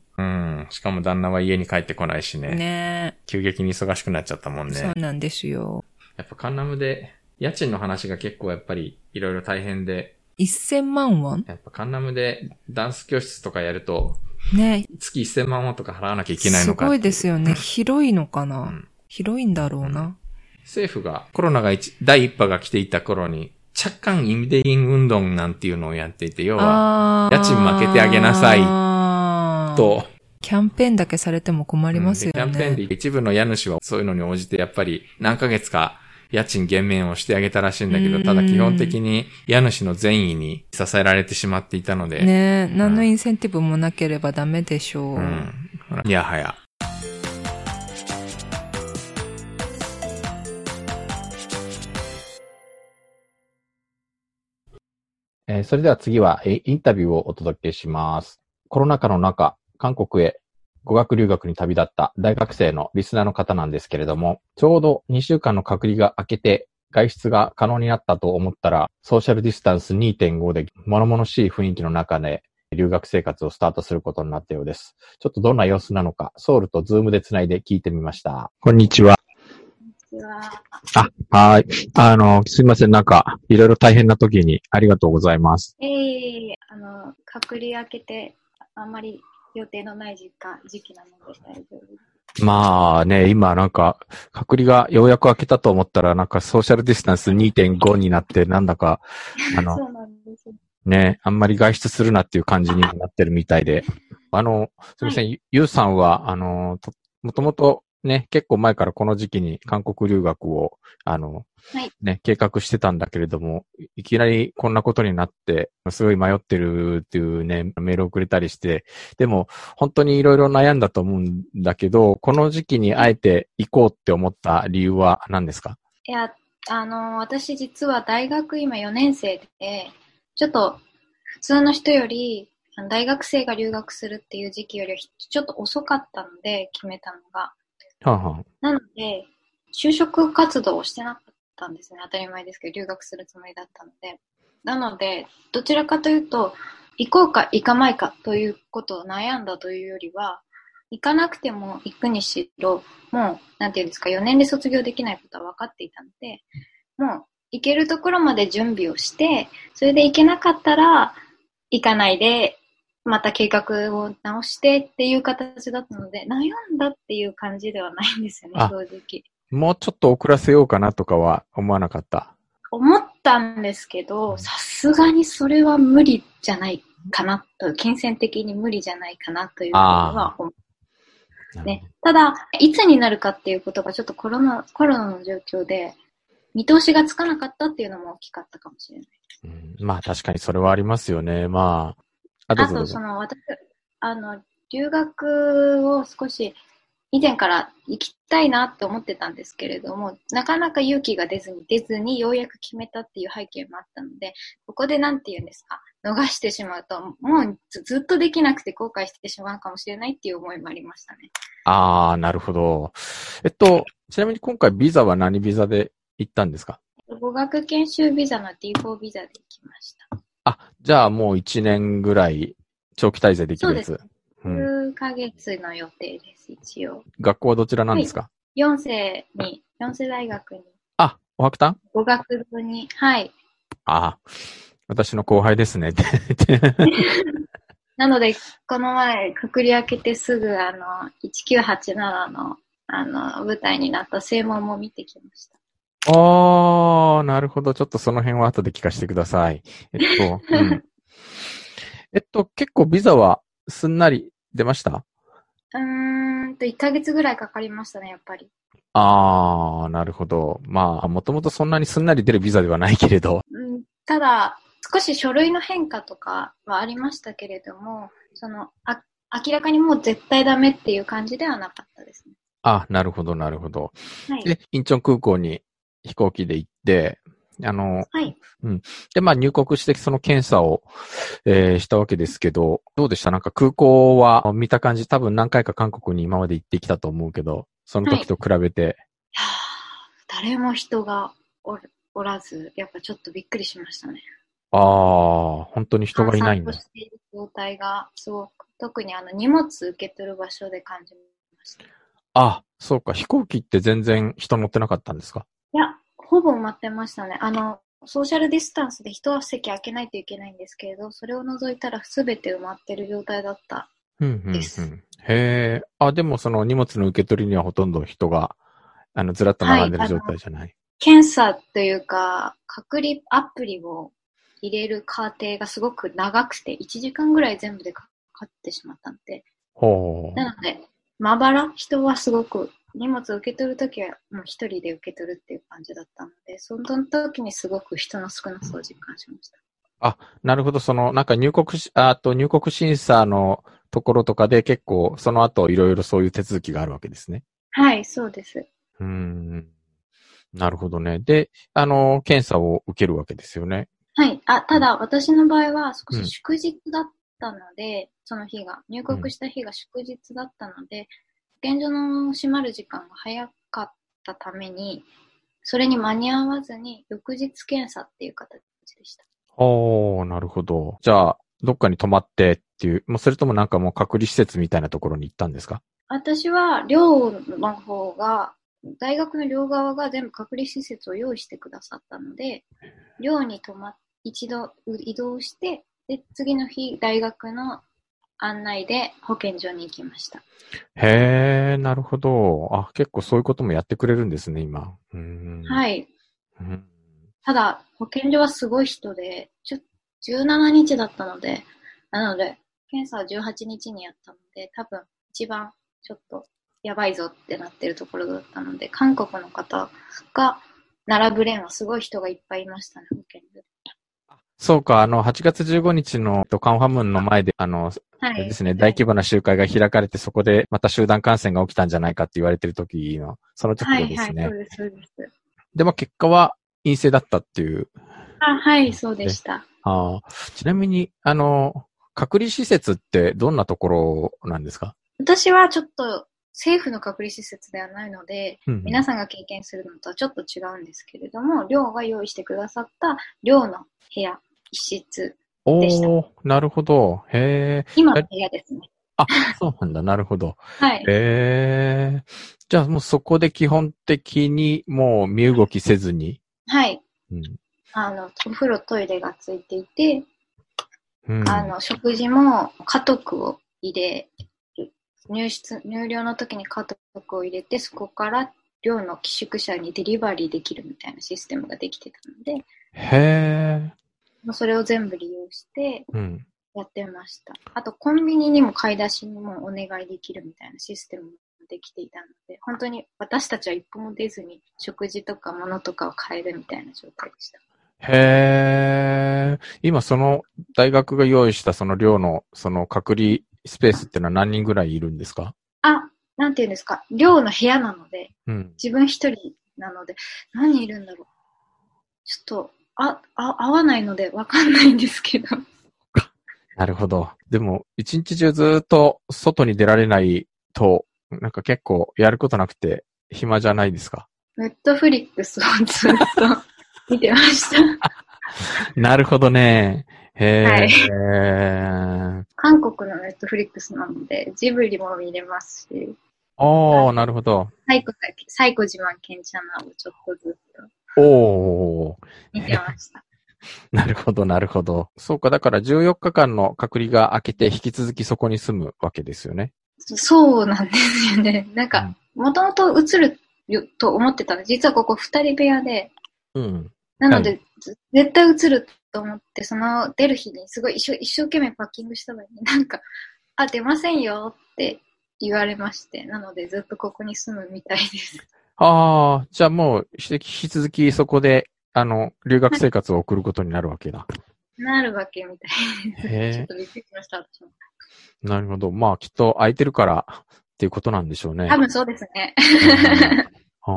うん。しかも旦那は家に帰ってこないしね。 ね。 急激に忙しくなっちゃったもんね。 そうなんですよ。 やっぱカンナムで、家賃の話が結構やっぱりいろいろ大変で。 せんまんウォン？ やっぱカンナムでダンス教室とかやると、 ね。 月せんまんウォンとか払わなきゃいけないのか。 すごいですよね。広いのかな、うん、広いんだろうな、うん。 政府がコロナが一第一波が来ていた頃に、チャッカンイムデイン運動なんていうのをやっていて、要は、家賃負けてあげなさいと。 キャンペーンだけされても困りますよね。 うん、キャンペーンで一部の家主はそういうのに応じてやっぱり何ヶ月か家賃減免をしてあげたらしいんだけど、ただ基本的に家主の善意に支えられてしまっていたので。 ねえ、何のインセンティブもなければダメでしょう。うん。 いやはや。えー、それでは次はインタビューをお届けします。コロナ禍の中、韓国へ語学留学に旅立った大学生のリスナーの方なんですけれども、ちょうどにしゅうかんの隔離が明けて外出が可能になったと思ったら、ソーシャルディスタンス にてんご で物々しい雰囲気の中で留学生活をスタートすることになったようです。ちょっとどんな様子なのか、ソウルとズームでつないで聞いてみました。こんにちは。あ、はい。あの、すいません。なんか、いろいろ大変な時にありがとうございます。 ええー、あの、隔離明けて、あんまり予定のない時間、時期なので大丈夫です。 まあね、今なんか、隔離がようやく明けたと思ったら、なんかソーシャルディスタンス にてんご になって、なんだか、あの、 そうなんです。 ね、あんまり外出するなっていう感じになってるみたいで。あの、すみません、はい、ゆうさんは、あの、もともと、ね、結構前からこの時期に韓国留学を、あの、 はい、 ね、計画してたんだけれども、いきなりこんなことになって、すごい迷ってるっていうね、メールをくれたりして、でも、本当にいろいろ悩んだと思うんだけど、この時期にあえて行こうって思った理由は何ですか？ いや、あの、私実は大学今よねん生で、ちょっと普通の人より、大学生が留学するっていう時期よりはちょっと遅かったので決めたのが、 はあはあ、 なので、就職活動をしてなかったんですね。当たり前ですけど、留学するつもりだったので。なので、どちらかというと、行こうか行かないかということを悩んだというよりは、行かなくても行くにしろ、もう、なんていうんですか、よねんで卒業できないことは分かっていたので、もう、行けるところまで準備をして、それで行けなかったら、行かないで、また計画を直してっていう形だったので、悩んだっていう感じではないんですよね、正直。 もうちょっと遅らせようかなとかは思わなかった？ 思ったんですけど、さすがにそれは無理じゃないかなと、金銭的に無理じゃないかなというふうには思う。ね、ただ、いつになるかっていうことがちょっとコロナ、コロナの状況で、見通しがつかなかったっていうのも大きかったかもしれない。 うん、まあ確かにそれはありますよね。まあ、あ, あと、その、私、あの、留学を少し以前から行きたいなって思ってたんですけれども、なかなか勇気が出ずに出ずにようやく決めたっていう背景もあったので、ここでなんて言うんですか、逃してしまうと、もう ず, ずっとできなくて後悔してしまうかもしれないっていう思いもありましたね。 ああ、なるほど。えっと、ちなみに今回ビザは何ビザで行ったんですか？ 語学研修ビザの ディーフォー ビザで行きました。 あ、じゃあもういちねんぐらい長期滞在できるやつ。 そうです。 うん、 数ヶ月の予定です、一応。 学校はどちらなんですか？はい、 よん世に、よん世大学に。 あ、おはくたん？ 語学部に、はい。 ああ、私の後輩ですね。 なので、この前、くくり開けてすぐ、あの、いちきゅうはちななの、あの、舞台になった正門も見てきました。 ああ、なるほど。ちょっとその辺は後で聞かせてください。えっと、うん、えっと、結構ビザはすんなり出ました？ うーんと、いっかげつぐらいかかりましたね、やっぱり。 ああ、なるほど。まあ、もともとそんなにすんなり出るビザではないけれど。 うん、ただ、少し書類の変化とかはありましたけれども、その、あ、明らかにもう絶対ダメっていう感じではなかったですね。 あ、なるほど、なるほど。 はい。 で、インチョン空港に飛行機で行って、あの、 はい。 うん。で、まあ入国してその検査を、えー、したわけですけど、どうでした？なんか空港は見た感じ、多分何回か韓国に今まで行ってきたと思うけど、その時と比べて。はい、いや誰も人が お, おらず、やっぱちょっとびっくりしましたね。 ああ、本当に人がいないんだ。 閑散としている状態がすごく、特にあの荷物受け取る場所で感じました。 あ、そうか。飛行機って全然人乗ってなかったんですか？ いや、ほぼ埋まってましたね。あの、ソーシャルディスタンスで一席開けないといけないんですけれど、それを除いたら全て埋まってる状態だったです。 うんうんうん、へえ。あ、でもその荷物の受け取りにはほとんど人が、あの、ずらっと並んでる状態じゃない？はい、 検査というか、隔離アプリを入れる過程がすごく長くて、いちじかんぐらい全部でかかってしまったので。 ほう。 なので、まばら、人はすごく、荷物を受け取るときはもう一人で受け取るっていう感じだったので、その時にすごく人の少なさを実感しました。 あ、なるほど。その、なんか入国し、あと入国審査のところとかで結構、その後いろいろそういう手続きがあるわけですね。 はい、そうです。 うーん。なるほどね。で、あの、検査を受けるわけですよね。 はい。あ、ただ、私の場合は少し祝日だったので、うん、その日が、入国した日が祝日だったので、保健所の閉まる時間が早かったために、それに間に合わずに、翌日検査っていう形でした。 おー、なるほど。じゃあ、どっかに泊まってっていう、もうそれともなんかもう隔離施設みたいなところに行ったんですか？ 私は、寮の方が、大学の寮側が全部隔離施設を用意してくださったので、寮に泊まっ、一度移動して、で、次の日、大学の案内で保健所に行きました。 へー、なるほど。あ、結構そういうこともやってくれるんですね、今。うーん、 はい。 うん、 ただ、保健所はすごい人で、じゅうしちにちだったので、なので、検査はじゅうはちにちにやったので、多分一番ちょっとやばいぞってなってるところだったので、韓国の方が並ぶ連はすごい人がいっぱいいましたね、保健所で。 そうか、あの、はちがつじゅうごにちのカンファムンの前で、あの、はい、ですね、大規模な集会が開かれて、そこでまた集団感染が起きたんじゃないかって言われてる時の、その直後ですね。 はいはい、そうです、そうです。 でも結果は陰性だったっていう。 あ、はい、そうでした。 あ、ちなみに、あの、隔離施設ってどんなところなんですか？ 私はちょっと政府の隔離施設ではないので、 うんうん、 皆さんが経験するのとはちょっと違うんですけれども、寮が用意してくださった寮の部屋、一室でした。 おー、なるほど。へー。 今の部屋ですね。 あ、そうなんだ。なるほど。 はい。 へー。じゃあもうそこで基本的にもう身動きせずに。 はい。 うん、 あの、お風呂、トイレがついていて、 うん、 あの、食事も家督を入れる。入室、入寮の時に家督を入れて、そこから寮の寄宿舎にデリバリーできるみたいなシステムができてたので、 へー。それを全部利用してやってました。 うん、 あと、コンビニにも買い出しにもお願いできるみたいなシステムもできていたので、本当に私たちは一歩も出ずに食事とか物とかを買えるみたいな状態でした。 へー。今その大学が用意したその寮のその隔離スペースってのは何人ぐらいいるんですか？ あ、なんていうんですか。寮の部屋なので、 うん、 自分一人なので、何人いるんだろう。ちょっと、あ、あ、合わないのでわかんないんですけど。 なるほど。でも、一日中ずっと外に出られないと、なんか結構やることなくて暇じゃないですか？ ネットフリックスをずっと見てました。 なるほどね。へー。 はい、韓国のネットフリックスなので、ジブリも見れますし。 おー、なるほど。 サイコ、サイコ自慢ケンチャナをちょっとずっと。おー。 見てました。 なるほど、なるほど。そうか、だからじゅうよっかかんの隔離が明けて引き続きそこに住むわけですよね。 そうなんですよね。なんか、もともと移ると思ってたの。実はここ二人部屋で。 うん。 なので、はい、絶対移ると思って、その出る日にすごい一生、一生懸命パッキングしたのに、なんか、あ、出ませんよって言われまして。なのでずっとここに住むみたいです。 ああ、じゃあもう引き続きそこで、あの、留学生活を送ることになるわけだ。 なるわけみたいです。ちょっとびっくりしました、私も。 なるほど。まあ、きっと空いてるからっていうことなんでしょうね。 多分そうですね。 うん、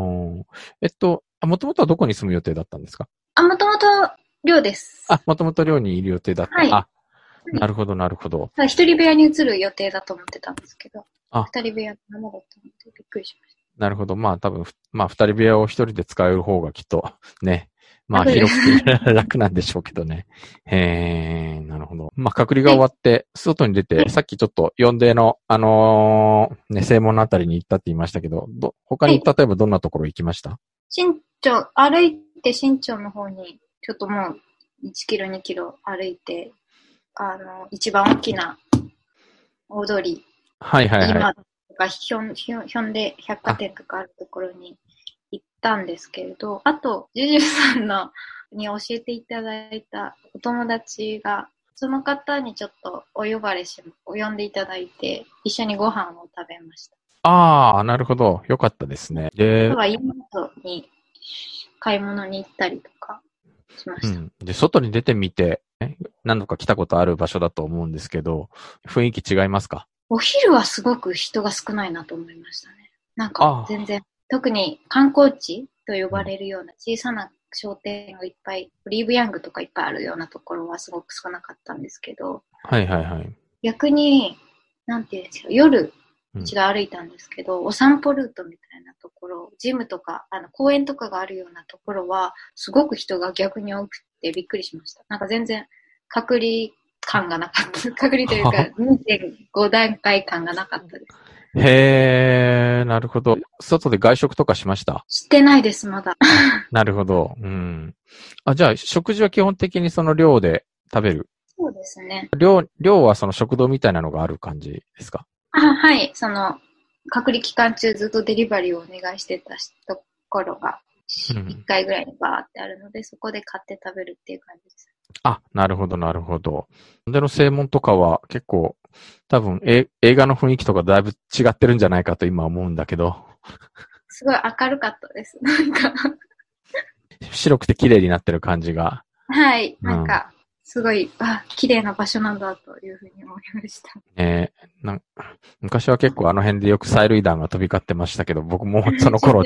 えっと、もともとはどこに住む予定だったんですか？ あ、もともと寮です。 あ、もともと寮にいる予定だった。はい、あ、なるほど、なるほど。 一人部屋に移る予定だと思ってたんですけど、 あ、 二人部屋のままだったのでびっくりしました。 なるほど。まあ多分、まあ二人部屋を一人で使える方がきっとね、まあ広くて楽なんでしょうけどね。へー、なるほど。まあ隔離が終わって、外に出て、さっきちょっと呼んでの、あのー、ね、正門のあたりに行ったって言いましたけど、ど他に例えばどんなところ行きました？ 新町、歩いて新町の方に、ちょっともういちキロ、にキロ歩いて、あの、一番大きな大通り。 はいはいはい。 今とかひょん、ひょん、ひょんで百貨店とかあるところに行ったんですけれど、あと、ジュジュさんのに教えていただいたお友達が、その方にちょっとお呼ばれし、お呼んでいただいて、一緒にご飯を食べました。 ああ、なるほど。よかったですね。で、 あとは妹に買い物に行ったりとかしました。 うん、で、外に出てみて、何度か来たことある場所だと思うんですけど、雰囲気違いますか？ お昼はすごく人が少ないなと思いましたね。なんか全然、特に観光地と呼ばれるような小さな商店がいっぱい、オリーブヤングとかいっぱいあるようなところはすごく少なかったんですけど、 はいはいはい。 逆に、なんていうんですか、夜、一度歩いたんですけど、うん、お散歩ルートみたいなところ、ジムとか、あの、公園とかがあるようなところは、すごく人が逆に多くてびっくりしました。なんか全然、隔離感がなかった。隔離というか、にてんご 段階感がなかったです。 へー、なるほど。外で外食とかしました？ してないです、まだ。 なるほど。うん。あ、じゃあ、食事は基本的にその寮で食べる？ そうですね。 寮、寮はその食堂みたいなのがある感じですか？ あ、はい。その、隔離期間中ずっとデリバリーをお願いしてたところが、いっかいぐらいにバーってあるので、うん、そこで買って食べるっていう感じです。 あ、なるほど、なるほど。での正門とかは結構、多分え、映画の雰囲気とかだいぶ違ってるんじゃないかと今思うんだけど。 すごい明るかったです。なんか白くて綺麗になってる感じが。 はい。なんか、うん、すごい、あ、綺麗な場所なんだというふうに思いました。 えー、なん昔は結構あの辺でよく催涙弾が飛び交ってましたけど、僕もその頃。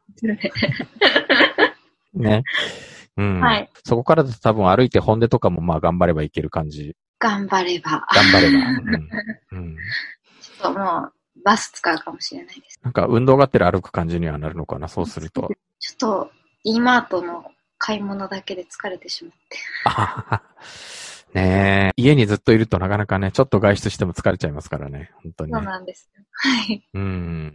ね。うん。はい。そこからだと多分歩いて本音とかもまあ頑張ればいける感じ。 頑張れば。 頑張れば。うん。うん、 ちょっともう、 バス使うかもしれないです。 なんか運動がてら歩く感じにはなるのかな、そうすると。 ちょっと、E マートの買い物だけで疲れてしまって。 あねえ。家にずっといるとなかなかね、ちょっと外出しても疲れちゃいますからね。本当に、ね。 そうなんですよ。はい。 うん。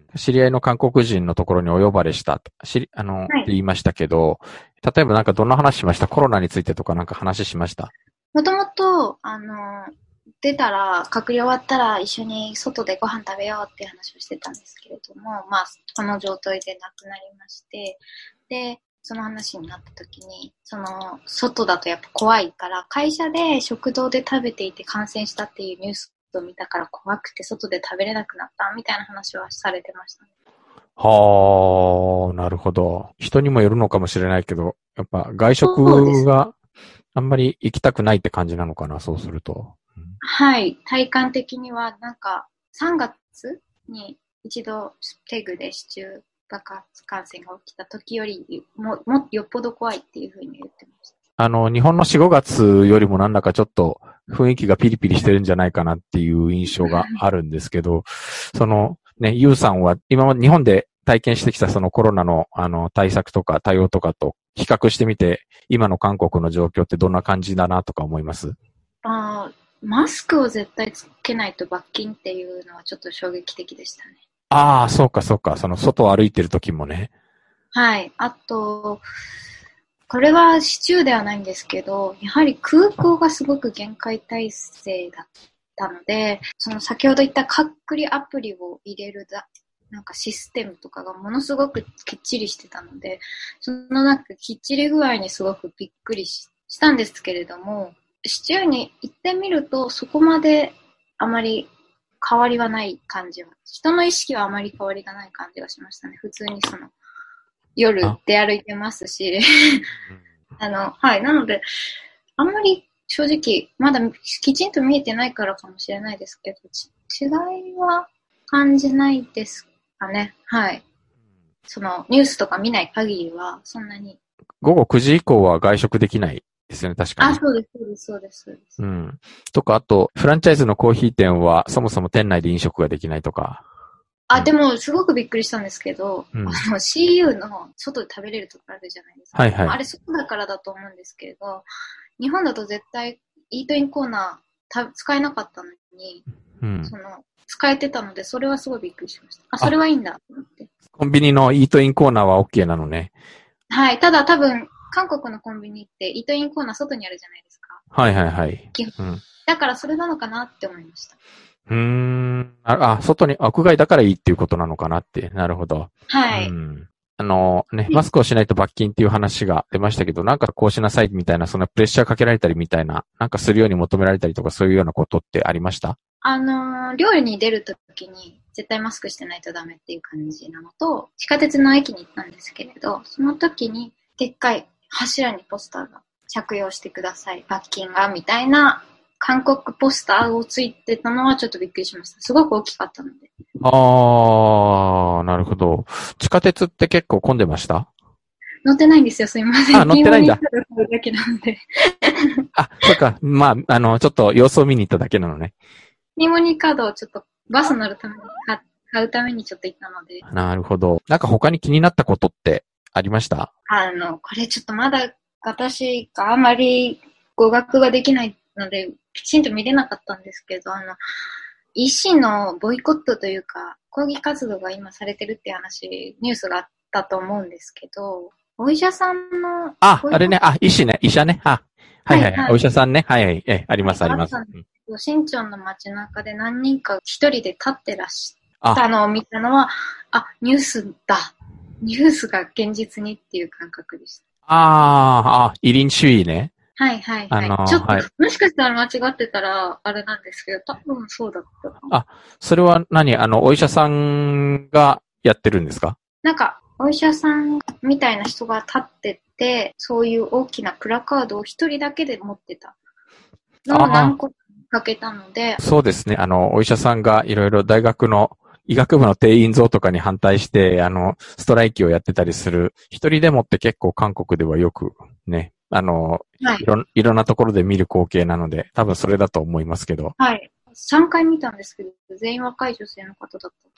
知り合いの韓国人のところにお呼ばれした。知り、あの、はい、って言いましたけど、例えばなんかどんな話しました？コロナについてとかなんか話しました？ もともと、あの、出たら、隔離終わったら一緒に外でご飯食べようっていう話をしてたんですけれども、まあ、この状態で亡くなりまして、で、その話になった時に、その、外だとやっぱ怖いから、会社で食堂で食べていて感染したっていうニュースを見たから怖くて外で食べれなくなったみたいな話はされてましたね。 はあ、なるほど。人にもよるのかもしれないけど、やっぱ外食があんまり行きたくないって感じなのかな、そうすると。 うん、はい。体感的にはなんかさんがつに一度テグで市中爆発感染が起きた時よりも、もっとよっぽど怖いっていうふうに言ってました。 あの、日本のよん、ごがつよりもなんだかちょっと雰囲気がピリピリしてるんじゃないかなっていう印象があるんですけど、そのね、ユウさんは今まで日本で体験してきたそのコロナのあの対策とか対応とかと比較してみて、今の韓国の状況ってどんな感じだなとか思います？ ああ、マスクを絶対つけないと罰金っていうのはちょっと衝撃的でしたね。 ああ、そうかそうか。その外を歩いてる時もね。 はい。あと、これは市中ではないんですけど、やはり空港がすごく厳戒態勢だったので、その先ほど言った隔離アプリを入れるだ、なんかシステムとかがものすごくきっちりしてたので、そのなんかきっちり具合にすごくびっくり し, したんですけれども、市中に行ってみるとそこまであまり変わりはない感じは、人の意識はあまり変わりがない感じがしましたね。普通にその夜出歩いてますし、あの、はい。なので、あんまり正直、まだきちんと見えてないからかもしれないですけど、違いは感じないですかね。はい。その、ニュースとか見ない限りは、そんなに。 午後くじ以降は外食できないですよね、確かに。 あ、そうです、そうです、そうです、そうです。 うん。とか、あと、フランチャイズのコーヒー店は、そもそも店内で飲食ができないとか。 あ、でも、すごくびっくりしたんですけど、うん、あの、シーユー の外で食べれるとこあるじゃないですか。 はいはい。 あれ、外だからだと思うんですけれど、日本だと絶対、イートインコーナーた使えなかったのに、うん、その、使えてたので、それはすごいびっくりしました。あ、それはいいんだと思って。 コンビニのイートインコーナーは OK なのね。 はい。ただ多分、韓国のコンビニってイートインコーナー外にあるじゃないですか。 はいはいはい。 うん、だからそれなのかなって思いました。 うーん。あ、あ、外に、屋外だからいいっていうことなのかなって。なるほど。 はい。 うん、あのね、マスクをしないと罰金っていう話が出ましたけど、なんかこうしなさいみたいな、そんなプレッシャーかけられたりみたいな、なんかするように求められたりとかそういうようなことってありました？ あのー、料理に出るときに絶対マスクしてないとダメっていう感じなのと、地下鉄の駅に行ったんですけれど、その時にでっかい柱にポスターが着用してください、罰金が、みたいな韓国ポスターをついてたのはちょっとびっくりしました。すごく大きかったので。 あー、なるほど。地下鉄って結構混んでました？ 乗ってないんですよ、すいません。 あ、乗ってないんだ。 だけなのであ、そっか。まあ、あの、ちょっと様子を見に行っただけなのね。 ニモニカードをちょっとバス乗るために買うためにちょっと行ったので。 なるほど。なんか他に気になったことってありました？ あの、これちょっとまだ私があまり語学ができないので、きちんと見れなかったんですけど、あの、医師のボイコットというか、抗議活動が今されてるっていう話、ニュースがあったと思うんですけど、お医者さんの。 あ、あれね、あ、医師ね、医者ね。あ、はいはい、はい、お医者さんね。はいはい、え、あります、あります。 新庄の街中で何人か一人で立ってらっしゃったのを見たのは、あ、ニュースだ。ニュースが現実にっていう感覚でした。 ああ、イリン主義ね。 はいはいはい。あのー、ちょっと、はい、もしかしたら間違ってたらあれなんですけど、多分そうだったかも。 あ、それは何？あの、お医者さんがやってるんですか？ なんか、お医者さんみたいな人が立ってて、そういう大きなプラカードを一人だけで持ってたのを何個かけたので。 そうですね。あの、お医者さんがいろいろ大学の医学部の定員増とかに反対して、あの、ストライキをやってたりする。一人でもって結構韓国ではよくね、あの、はい、いろ、いろんなところで見る光景なので、多分それだと思いますけど。 はい。さんかい見たんですけど、全員若い女性の方だった。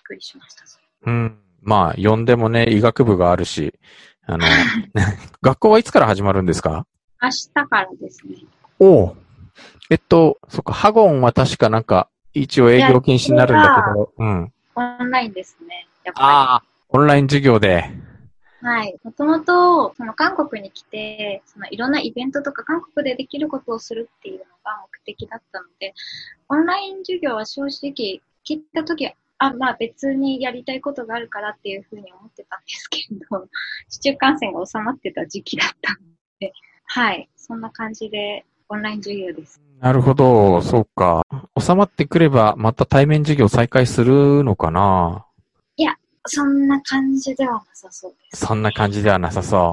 くりしました。 うん。まあ、呼んでもね、医学部があるし、あの、学校はいつから始まるんですか？ 明日からですね。 おう。えっと、そっか、ハゴンは確かなんか、一応営業禁止になるんだけど、うん。 オンラインですね。やっぱり。 ああ、オンライン授業で。 はい。もともと、その韓国に来て、そのいろんなイベントとか韓国でできることをするっていうのが目的だったので、オンライン授業は正直、聞いたとき、あ、まあ別にやりたいことがあるからっていうふうに思ってたんですけど、市中感染が収まってた時期だったので、はい。そんな感じで、オンライン授業です。 なるほど、そうか。収まってくれば、また対面授業再開するのかな？ いや、そんな感じではなさそうです、 ね。そんな感じではなさそう。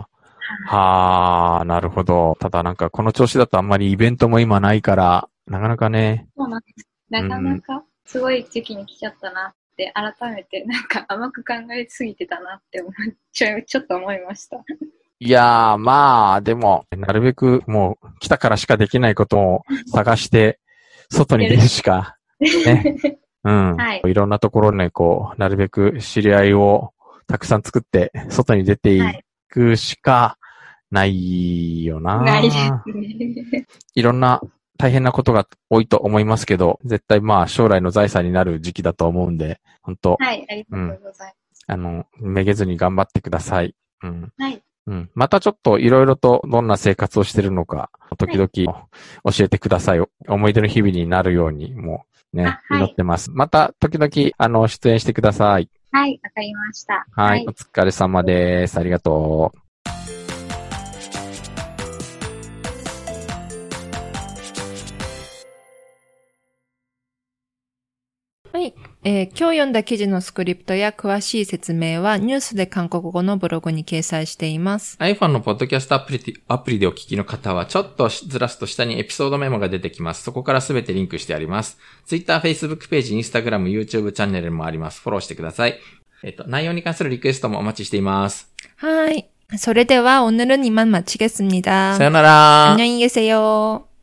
はあ、なるほど。ただなんかこの調子だとあんまりイベントも今ないから、なかなかね。 そうなんです。なかなかすごい時期に来ちゃったなって、改めてなんか甘く考えすぎてたなって思っちゃう、ちょっと思いました。 いやー、まあ、でも、なるべくもう来たからしかできないことを探して、外に出るしか、ね。うん。はい。いろんなところね、こう、なるべく知り合いをたくさん作って、外に出ていくしかないよな。 ないですね。 いろんな大変なことが多いと思いますけど、絶対まあ将来の財産になる時期だと思うんで、本当。 はい、ありがとうございます。 うん、あの、めげずに頑張ってください。うん。 はい。 うん。またちょっといろいろとどんな生活をしてるのか、時々教えてください。はい、思い出の日々になるように、もうね、祈ってます。また時々、あの、出演してください。 はい、わかりました。 はい。はい、お疲れ様です。ありがとう。 はい、えー。今日読んだ記事のスクリプトや詳しい説明はニュースで韓国語のブログに掲載しています。 iPhone のポッドキャストアプリ、アプリでお聞きの方はちょっとずらすと下にエピソードメモが出てきます。そこからすべてリンクしてあります。Twitter、Facebook ページ、Instagram、YouTube チャンネルもあります。フォローしてください。えっと、内容に関するリクエストもお待ちしています。 はい。それでは오늘은 이만 마치겠습니다. 사요나라. 안녕히 계세요.